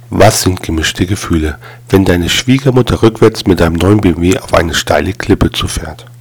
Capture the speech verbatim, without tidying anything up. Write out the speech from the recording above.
Was sind gemischte Gefühle, wenn deine Schwiegermutter rückwärts mit deinem neuen B M W auf eine steile Klippe zufährt?